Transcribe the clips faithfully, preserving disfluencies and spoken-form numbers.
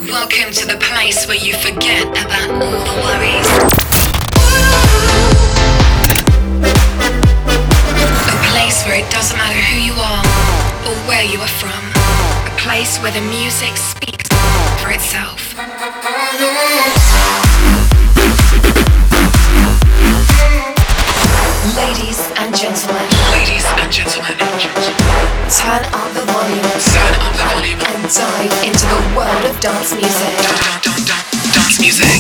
Welcome to the place where you forget about all the worries. A place where it doesn't matter who you are or where you are from. A place where the music speaks for itself. Ladies and gentlemen. Ladies and gentlemen. Turn up the volume. Turn up the volume. And dive into the world of dance music. Dun, dun, dun, dun, dance music.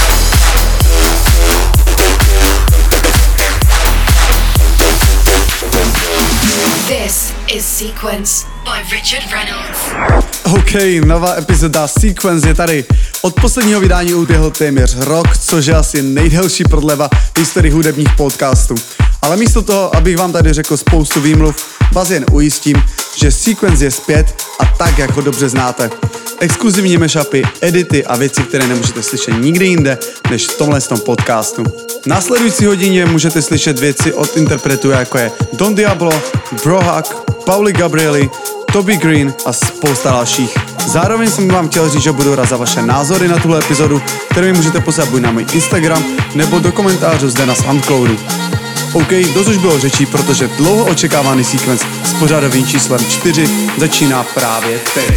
This is Sequence by Richard Reynolds. OK, nová epizoda Sequence je tady. Od posledního vydání uběhl téměř rok, což je asi nejdelší prodleva v historii hudebních podcastů. Ale místo toho, abych vám tady řekl spoustu výmluv, vás jen ujistím, že Sequence je zpět a tak, jak ho dobře znáte. Exkluzivní mashupy, edity a věci, které nemůžete slyšet nikdy jinde, než v tomhle podcastu. V následující hodině můžete slyšet věci od interpretů, jako je Don Diablo, Brohak, Pauli Gabrieli, Toby Green a spousta dalších. Zároveň jsem vám chtěl říct, že budu rád za vaše názory na tuhle epizodu, které mi můžete poslat buď na můj Instagram, nebo do komentářů zde na Soundcloudu. OK, dost už bylo řečí, protože dlouho očekávaný Sequence s pořadovým číslem čtyři začíná právě teď.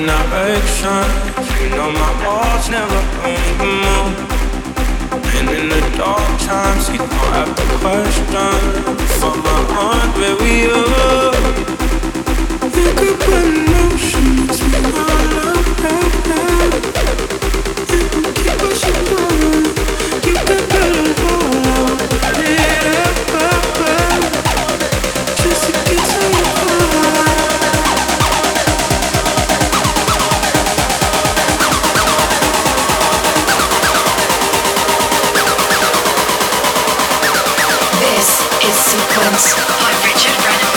changing direction. You know my walls never move. And in the dark times, you don't have to question. For my heart, where we are. You could put an ocean between our love. You can keep us apart. Keep the color warm. Yeah, just to get to your heart. This is Sequence by Richard Reynolds.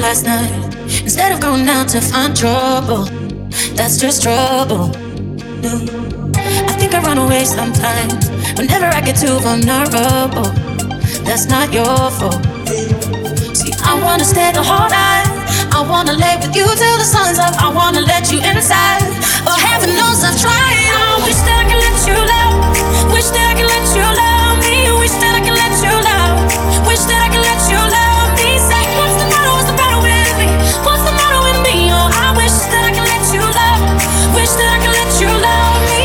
last night. Instead of going out to find trouble, that's just trouble. No. I think I run away sometimes whenever I get too vulnerable. That's not your fault. See, I wanna stay the whole night. I wanna lay with you till the sun's up. I wanna let you inside. Oh, heaven knows I've tried. I wish that I could let you love. Wish that I could let you love me. Wish that I could let you love. Wish that I could let you love me. Say, what's the matter? What's the matter with me? What's the matter with me? Oh, I wish that I could let you love. Wish that I could let you love me.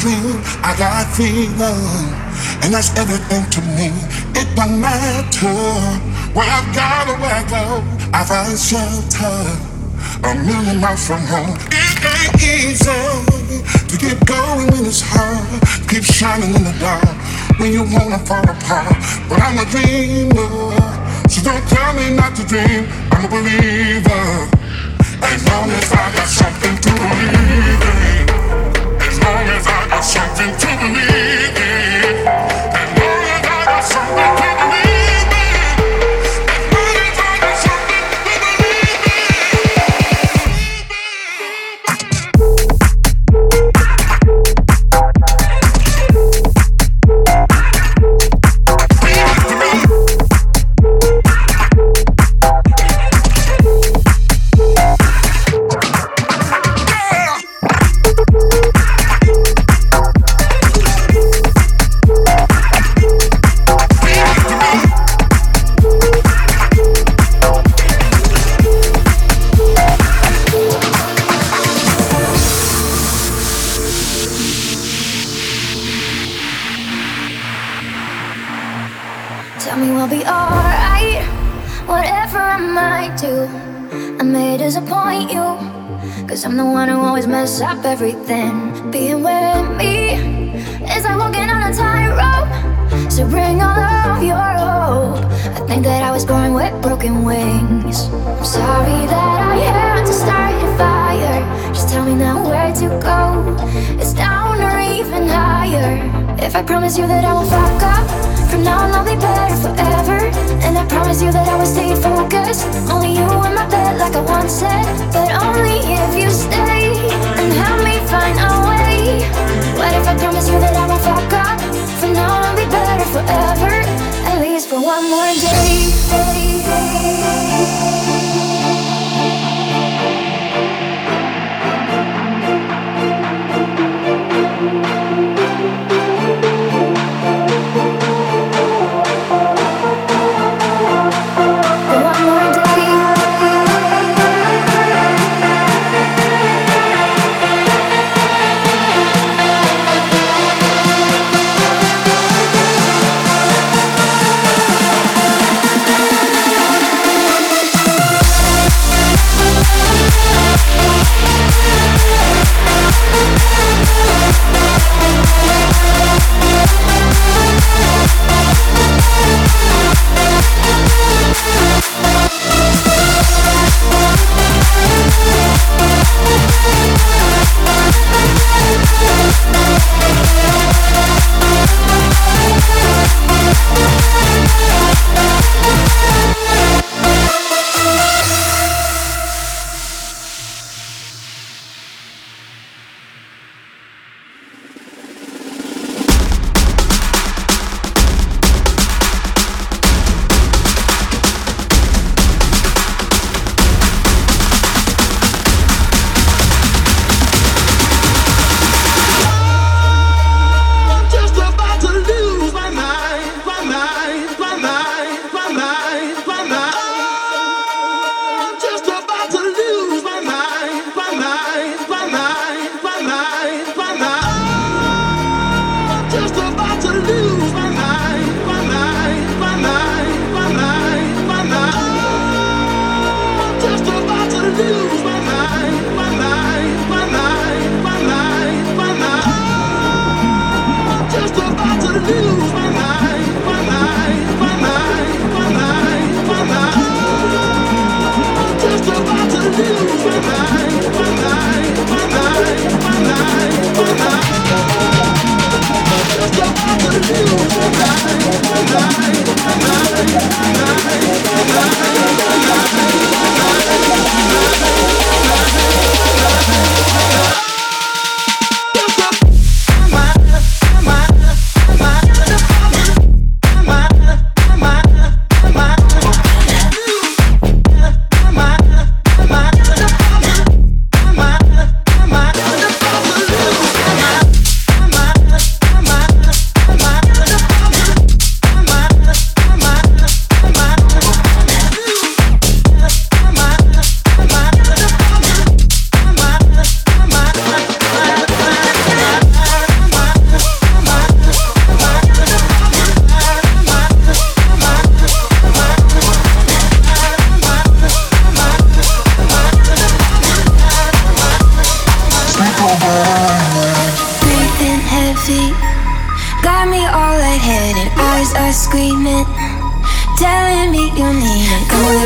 dream, I got fever, and that's everything to me. It don't matter where I gotta where I go. I find shelter a million miles from home. It ain't easy to keep going when it's hard. Keep shining in the dark when you wanna fall apart. But I'm a dreamer, so don't tell me not to dream. I'm a believer. As long as I got something to believe in. As long as I got something to believe in. As long as I got something to believe in. As long as I got something to believe Tell me we'll be alright, whatever I might do. I may disappoint you, cause I'm the one who always mess up everything. Being with me is like walking on a tightrope, so bring all of your hope. I think that I was born with broken wings. I'm sorry that I had to start a fire. Just tell me now where to go. It's down or even higher. If I promise you that I will fuck up, from now on I'll be better forever. And I promise you that I will stay focused. Only you in my bed like I once said. But only if you stay and help me find a way. What if I promise you that I won't fuck up? From now on I'll be better forever. At least for one more day.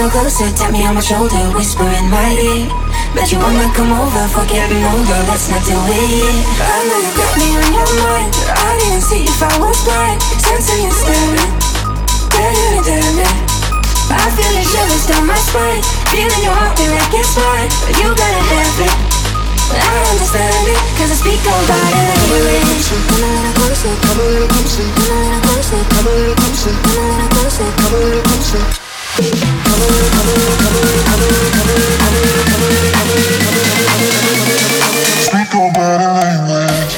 little closer, tap me on my shoulder, whisper in my ear. Bet you wanna come over, forget me older, let's not do it. I know you got me on your mind, I didn't see if I was blind. Sense of you staring, better than it. I feel your shivers down my spine, feeling your heartbeat like it's mine. But you gotta have it, I understand it, cause I speak about it anyway. Come a little closer, come a little closer, come a little closer, come a little closer, come a little closer, come a little closer. Come a little, come a little, come a little, come a little, come a little, come a little, come a little, come a little, come a little, come a little. Speak about it language.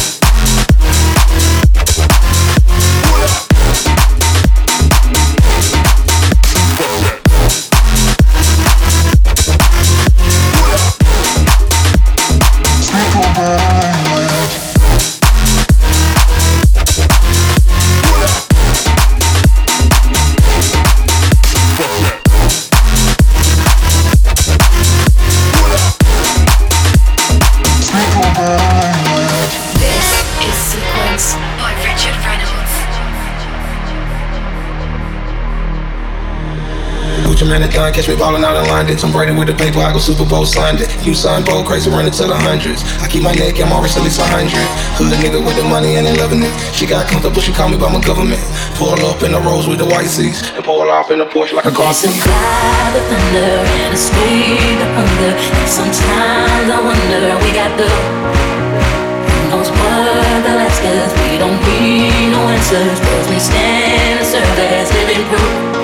Man, the catch me ballin' out in London. Tom Brady with the paper, I go Super Bowl Sunday. You son, bold, crazy, running to the hundreds. I keep my neck, I'm always at least a hundred. Hood nigga with the money and they loving it. She got comfortable, she call me by my government. Pull up in the Rolls with the white seats and pull off in the Porsche like a car seat. It's a cry, the thunder, and a scream, the hunger. And sometimes I wonder, we got the those words that ask us. We don't need no answers, cause we stand and serve as living proof.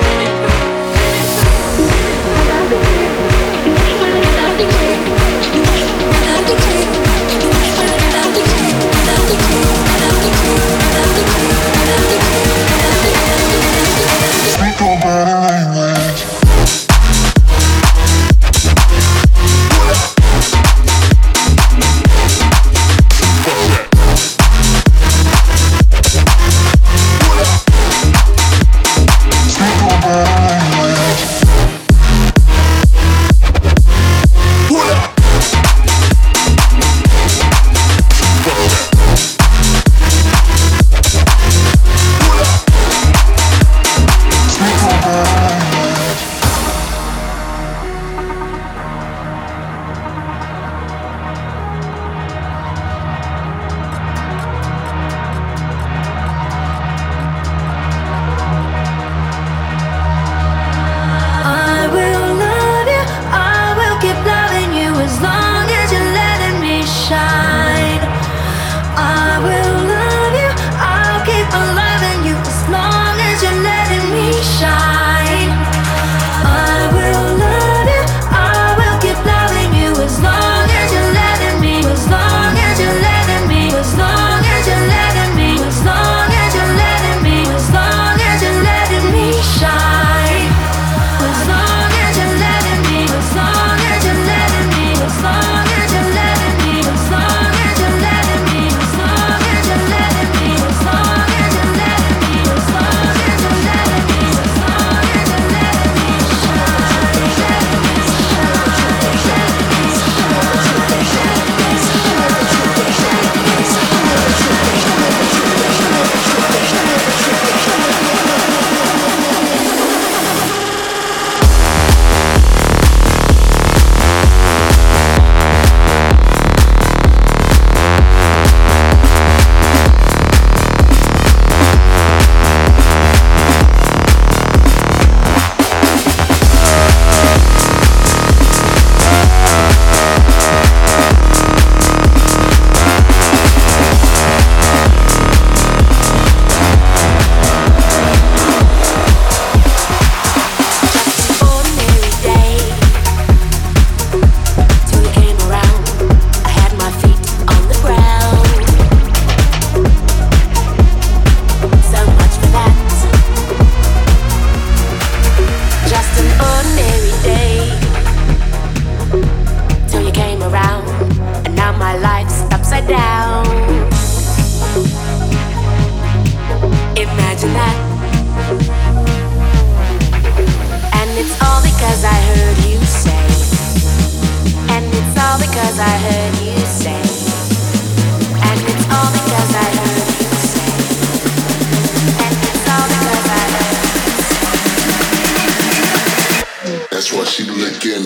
Speak about it language. Speak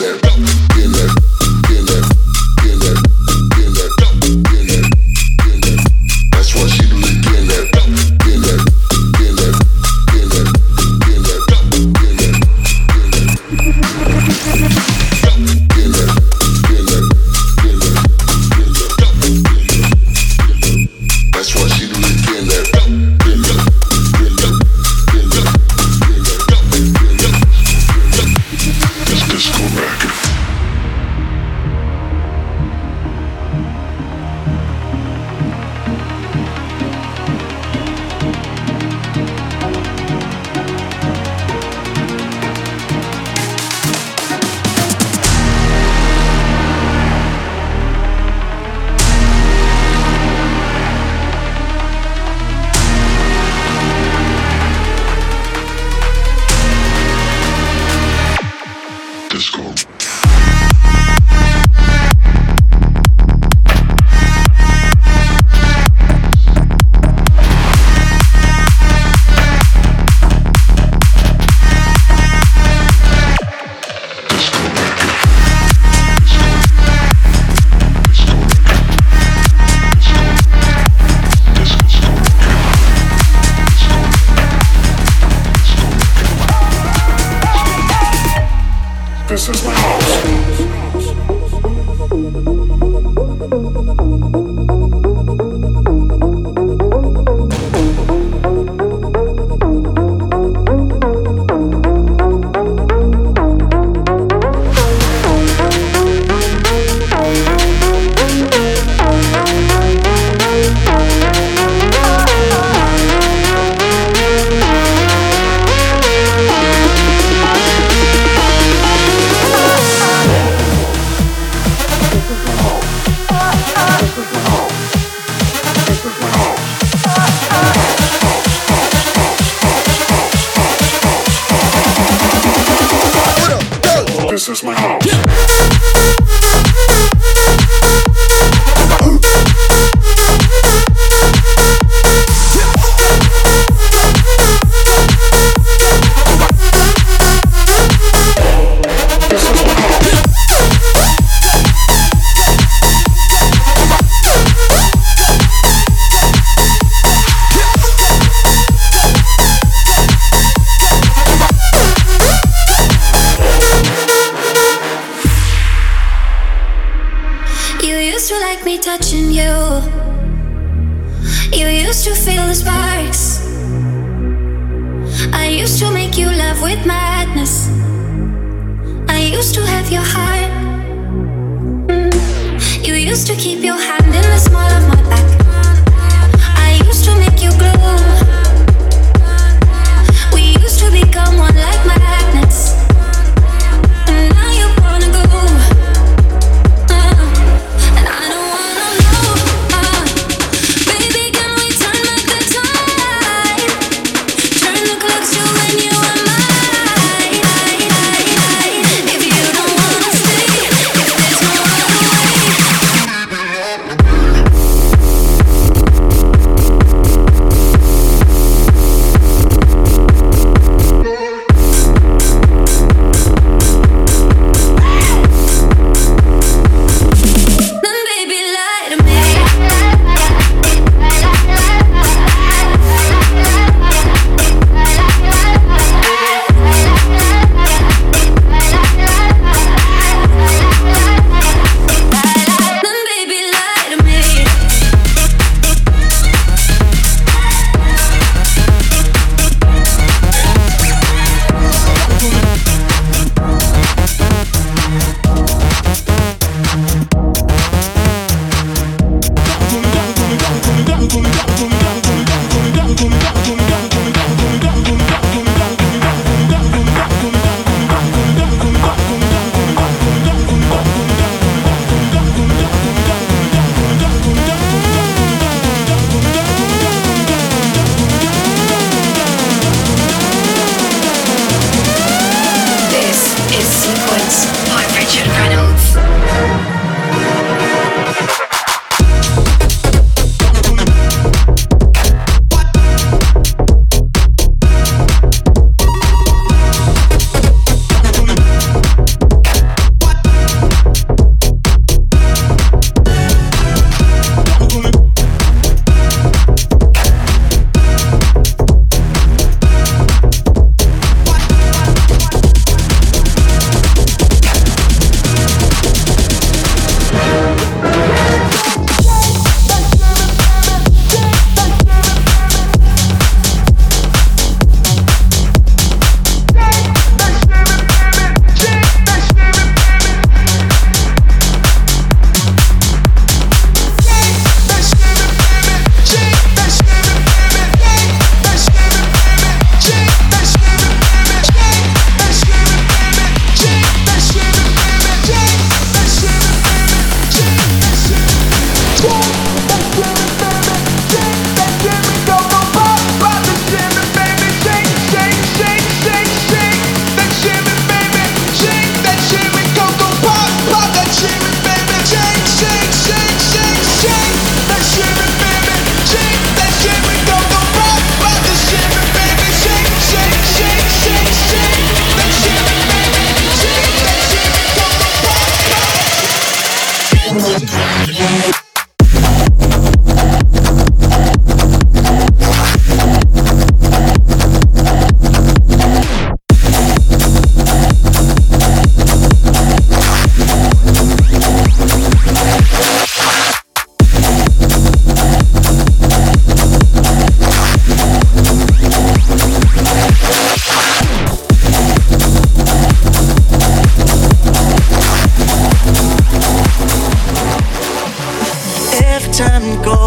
This is my house. Touching you, you used to feel the sparks. I used to make you love with madness. I used to have your heart. Mm. You used to keep your hand in the small of my back. I used to make you glow. We used to become one like magnets. And now you wanna go.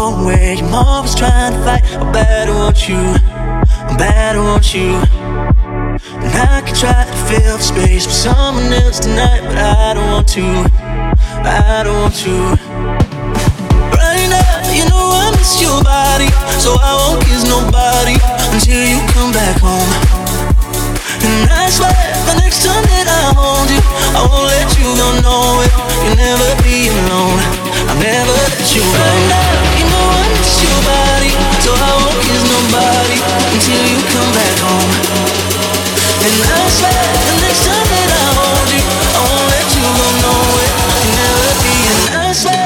wrong way. I'm always trying to fight. I better want you, I better want you. And I can try to fill the space with someone else tonight, but I don't want to, I don't want to. Right now, you know I miss your body, so I won't kiss nobody until you come back home. And I swear, the next time that I hold you, I won't let you go nowhere. You'll never be alone, I'll never let you go. Right now, you know I miss your body, so I won't kiss nobody until you come back home. And I swear, the next time that I hold you, I won't let you go nowhere. You'll never be, and I swear.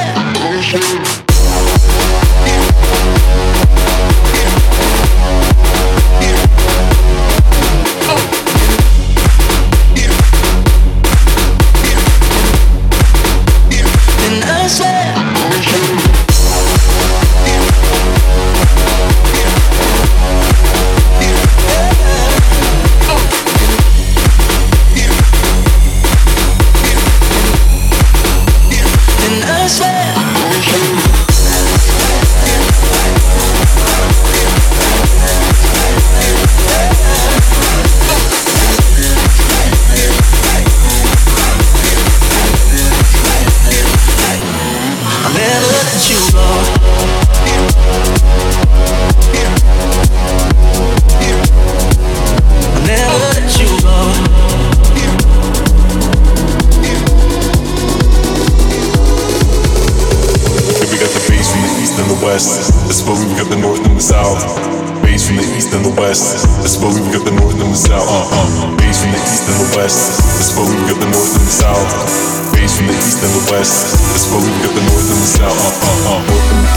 That's where we've got the north and the south. Bass from the east and the west. That's where we've got the north and the south. Uh, uh. Bass from the east and the west. That's where we've got the north and the south. Bass from the east and the west. That's where we've got the north and the south. Uh, uh,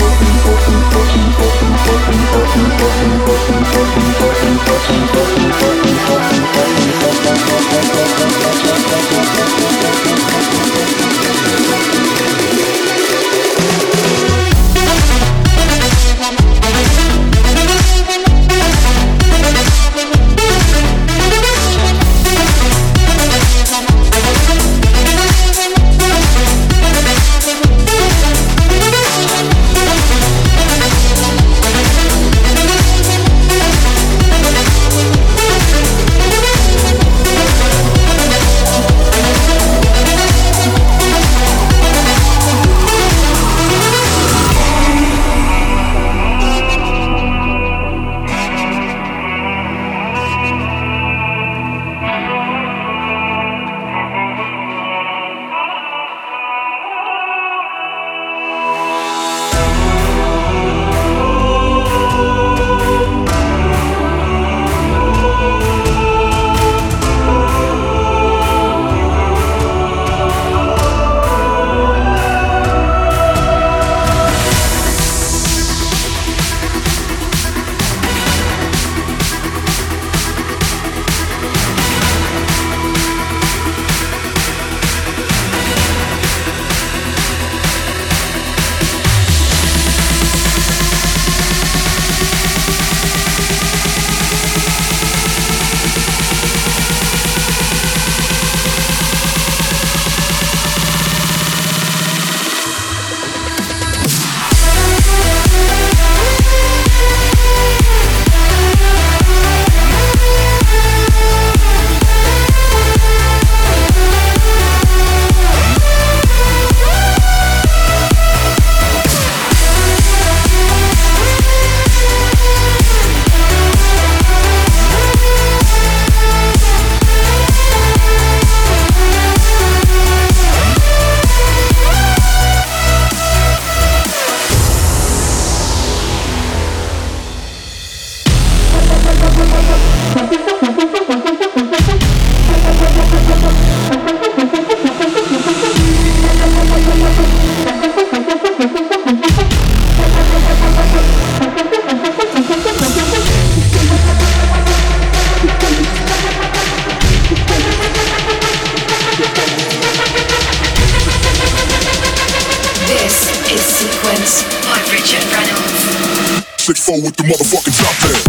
six four with the motherfucking drop there.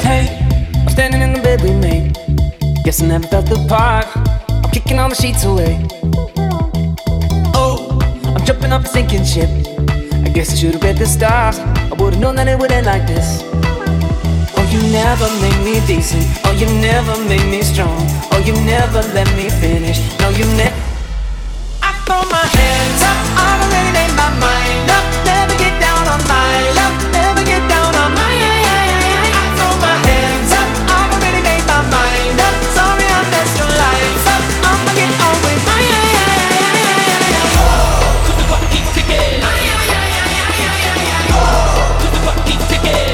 Hey, I'm standing in the bed we made. Guess I never felt the part. I'm kicking all the sheets away. Oh, I'm jumping off a sinking ship. I guess I should've read the stars. I would've known that it would end like this. Oh, you never made me decent. Oh, you never made me strong. Oh, you never let me finish. No, you never. I throw my hands up. I've already made my mind up. Never get down on my luck. Never get down on my. I throw my hands up. I've already made my mind up. Sorry I messed your life up. I'ma get on with my. Cause the clock keeps ticking. Cause the clock keeps ticking.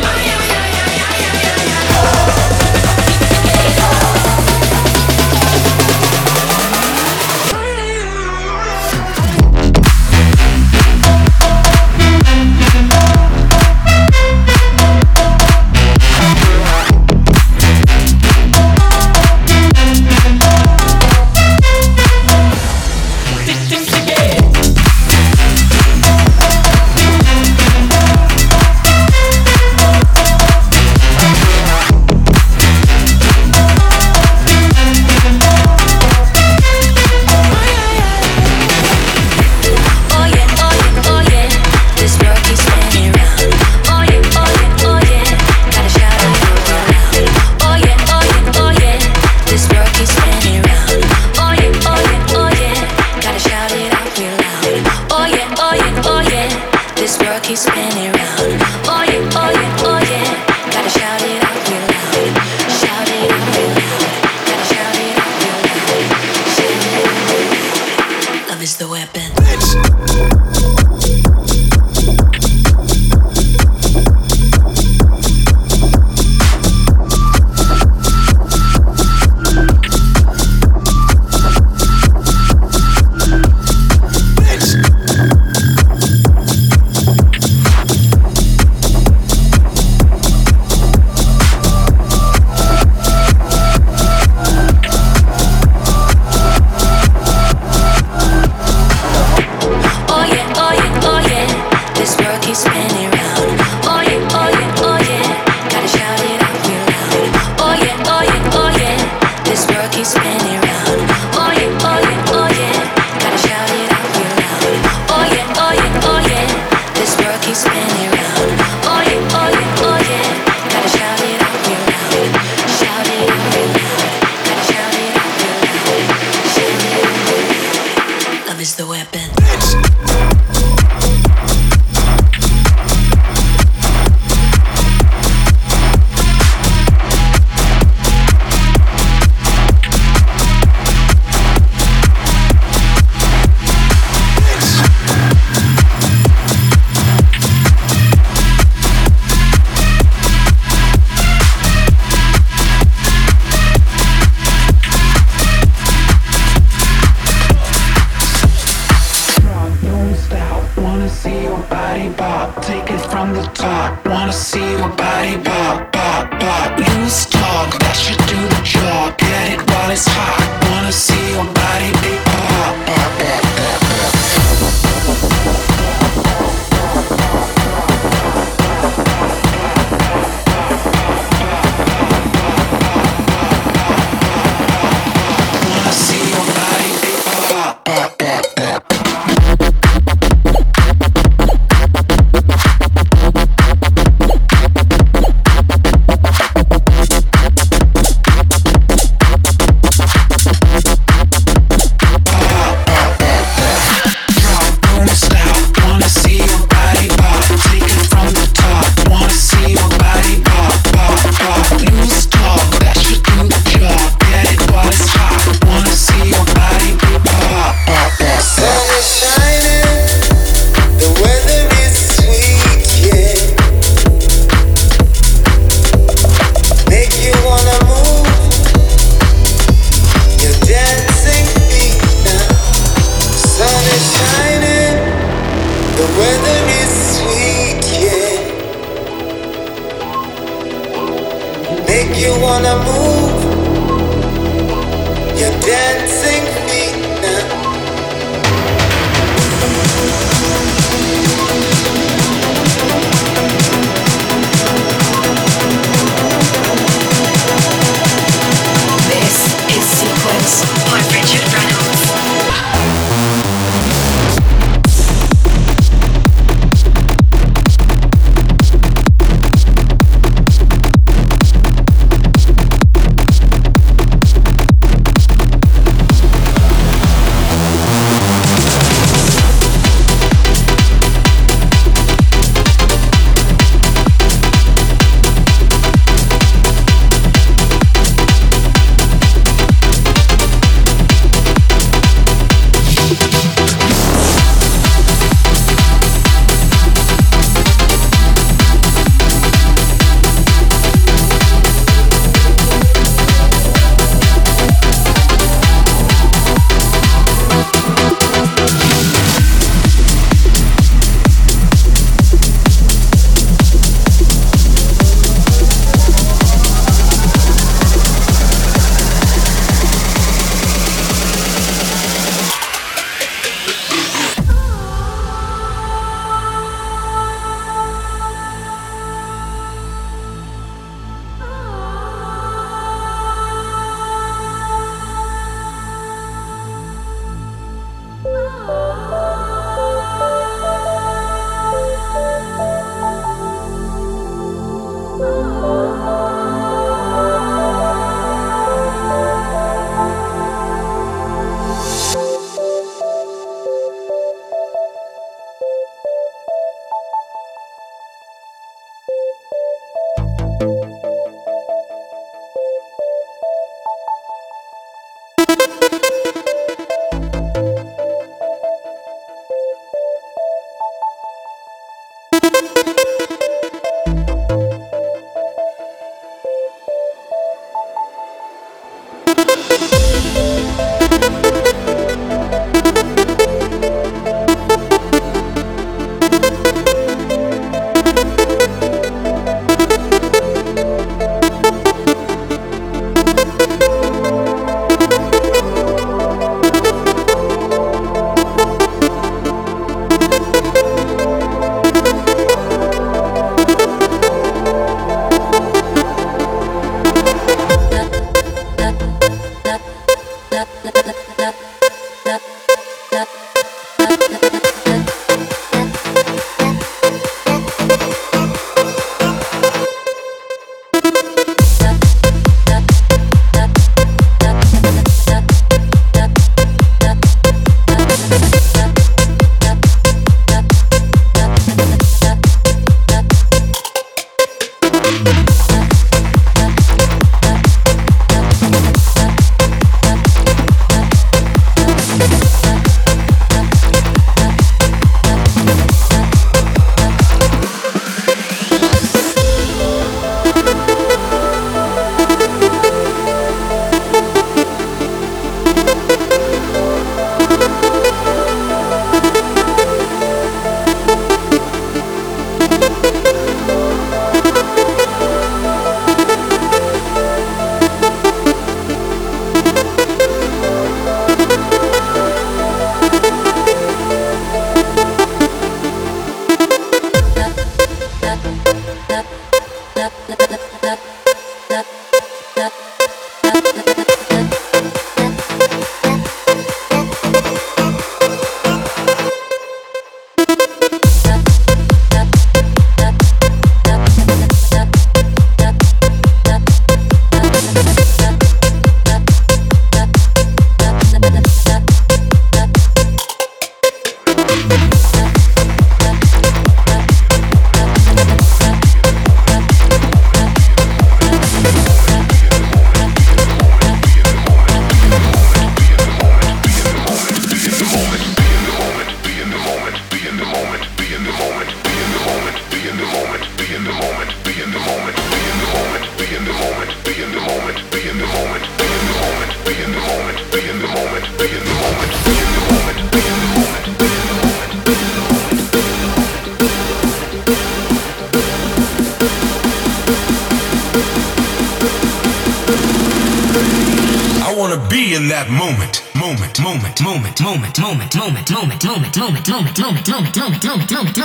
I wanna be in that moment. Moment, moment, moment, moment, moment, moment, moment, moment, moment, moment, moment, moment, moment, moment, moment, moment,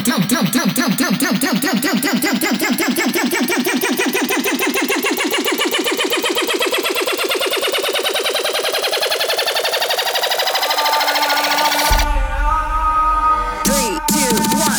Three, two, one.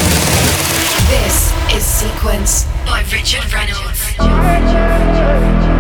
This is Sequence by Richard Reynolds.